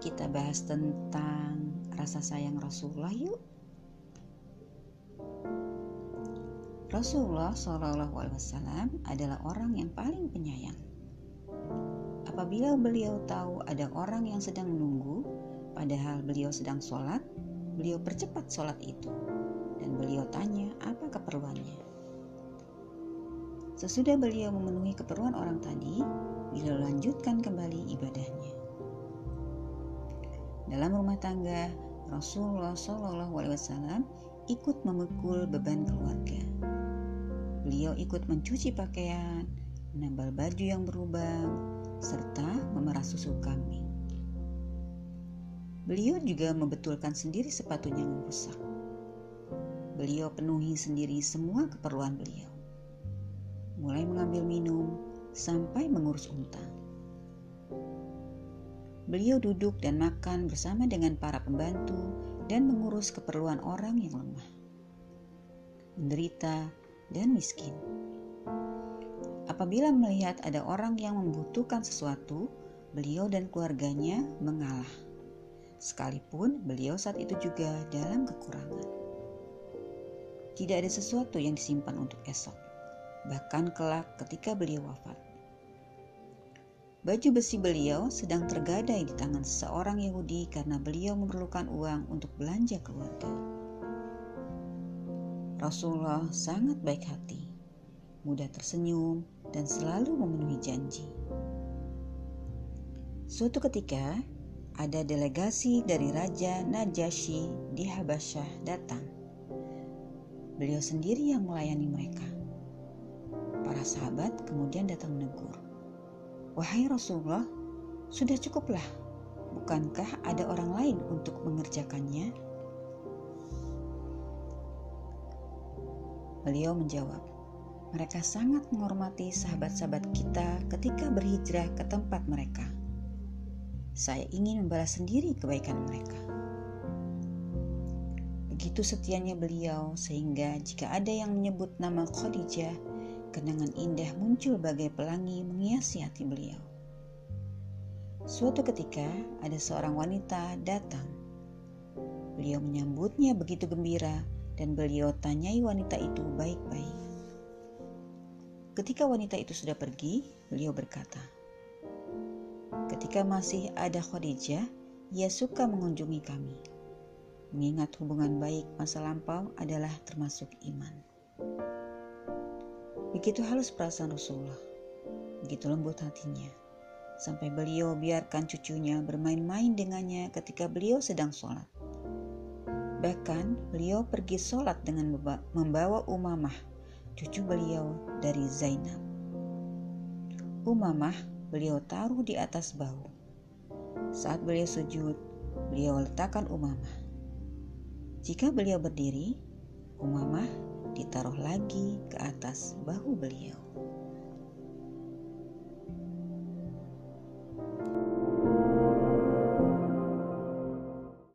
kita bahas tentang rasa sayang Rasulullah yuk. Rasulullah SAW adalah orang yang paling penyayang. Apabila beliau tahu ada orang yang sedang menunggu, padahal beliau sedang sholat, beliau percepat sholat itu, dan beliau tanya apa keperluannya. Sesudah beliau memenuhi keperluan orang tadi, beliau lanjutkan kembali ibadahnya. Dalam rumah tangga, Rasulullah SAW ikut memikul beban keluarga. Beliau ikut mencuci pakaian, menambal baju yang berlubang, serta memerah susu kambing. Beliau juga membetulkan sendiri sepatunya yang rusak. Beliau penuhi sendiri semua keperluan beliau, mulai mengambil minum sampai mengurus unta. Beliau duduk dan makan bersama dengan para pembantu dan mengurus keperluan orang yang lemah, menderita, dan miskin. Apabila melihat ada orang yang membutuhkan sesuatu, beliau dan keluarganya mengalah, sekalipun beliau saat itu juga dalam kekurangan. Tidak ada sesuatu yang disimpan untuk esok, bahkan kelak ketika beliau wafat. Baju besi beliau sedang tergadai di tangan seorang Yahudi karena beliau memerlukan uang untuk belanja keluarga. Rasulullah sangat baik hati, mudah tersenyum, dan selalu memenuhi janji. Suatu ketika, ada delegasi dari Raja Najasyi di Habasyah datang. Beliau sendiri yang melayani mereka. Para sahabat kemudian datang menegur, "Wahai Rasulullah, sudah cukuplah. Bukankah ada orang lain untuk mengerjakannya?" Beliau menjawab, "Mereka sangat menghormati sahabat-sahabat kita ketika berhijrah ke tempat mereka. Saya ingin membalas sendiri kebaikan mereka." Begitu setianya beliau sehingga jika ada yang menyebut nama Khadijah, kenangan indah muncul bagai pelangi menghiasi hati beliau. Suatu ketika ada seorang wanita datang. Beliau menyambutnya begitu gembira dan beliau tanyai wanita itu baik-baik. Ketika wanita itu sudah pergi, beliau berkata, "Ketika masih ada Khadijah, ia suka mengunjungi kami. Mengingat hubungan baik masa lampau adalah termasuk iman." Begitu halus perasaan Rasulullah, begitu lembut hatinya, sampai beliau biarkan cucunya bermain-main dengannya ketika beliau sedang sholat. Bahkan beliau pergi sholat dengan membawa Umamah, cucu beliau dari Zainab. Umamah beliau taruh di atas bahu. Saat beliau sujud, beliau letakkan Umamah. Jika beliau berdiri, Umamah ditaruh lagi ke atas bahu beliau.